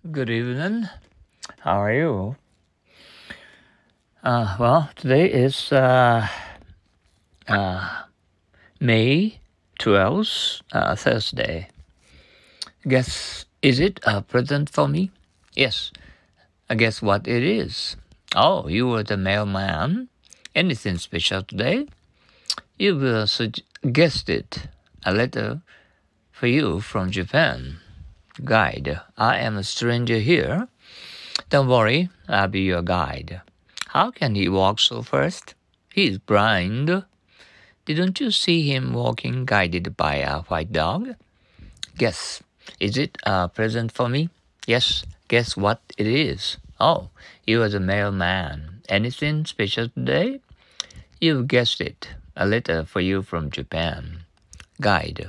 Good evening. How are you? Today is May 12th, Thursday. Guess, is it a present for me? Yes. Guess what it is? Oh, you were the mailman. Anything special today? You will guessed it. A letter for you from Japan. Guide. I am a stranger here. Don't worry, I'll be your guide. How can he walk so fast? He's blind. Didn't you see him walking guided by a white dog? Guess. Is it a present for me? Yes. Guess what it is? Oh, you are the mailman. Anything special today? You've guessed it. A letter for you from Japan. Guide.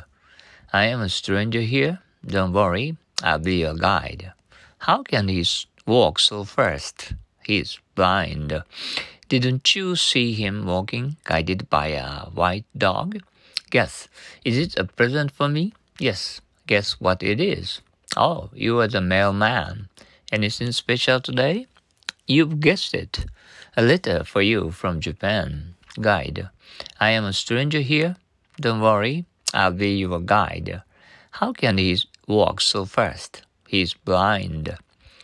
I am a stranger here. Don't worry, I'll be your guide. How can he walk so fast? He's blind. Didn't you see him walking, guided by a white dog? Guess. Is it a present for me? Yes. Guess what it is? Oh, you are the mailman. Anything special today? You've guessed it. A letter for you from Japan. Guide. I am a stranger here. Don't worry, I'll be your guide. How can he walk so fast? He's blind.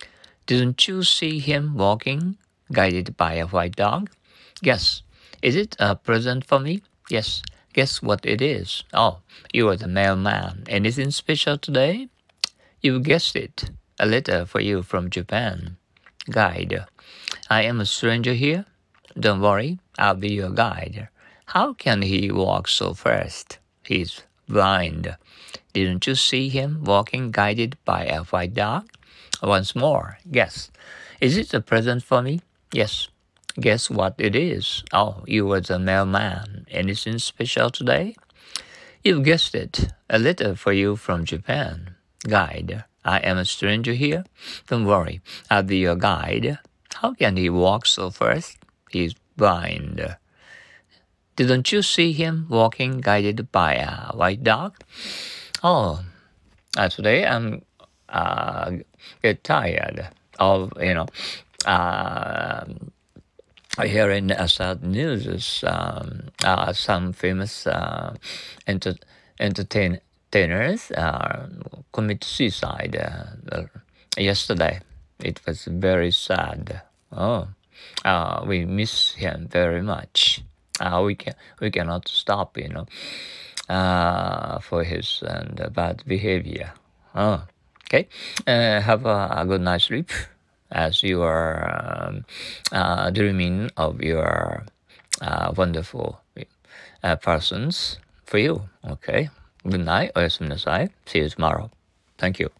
Didn't you see him walking, guided by a white dog? Guess. Is it a present for me? Yes. Guess what it is? Oh, you are the mailman. Anything special today? You guessed it. A letter for you from Japan. Guide. I am a stranger here. Don't worry, I'll be your guide. How can he walk so fast? He's blind. Didn't you see him walking guided by a white dog? Once more, guess. Is it a present for me? Yes. Guess what it is? Oh, you were the mailman. Anything special today? You've guessed it. A letter for you from Japan. Guide. I am a stranger here. Don't worry, I'll be your guide. How can he walk so fast? He's blind. Didn't you see him walking guided by a white dog? Oh, today I'm get tired of hearing sad news. Some famous entertainers commit suicide yesterday. It was very sad. We miss him very much. We cannot stop, for his bad behavior. Okay. Have a good night's sleep as you are dreaming of your wonderful persons for you. Okay. Good night. おやすみなさい. See you tomorrow. Thank you.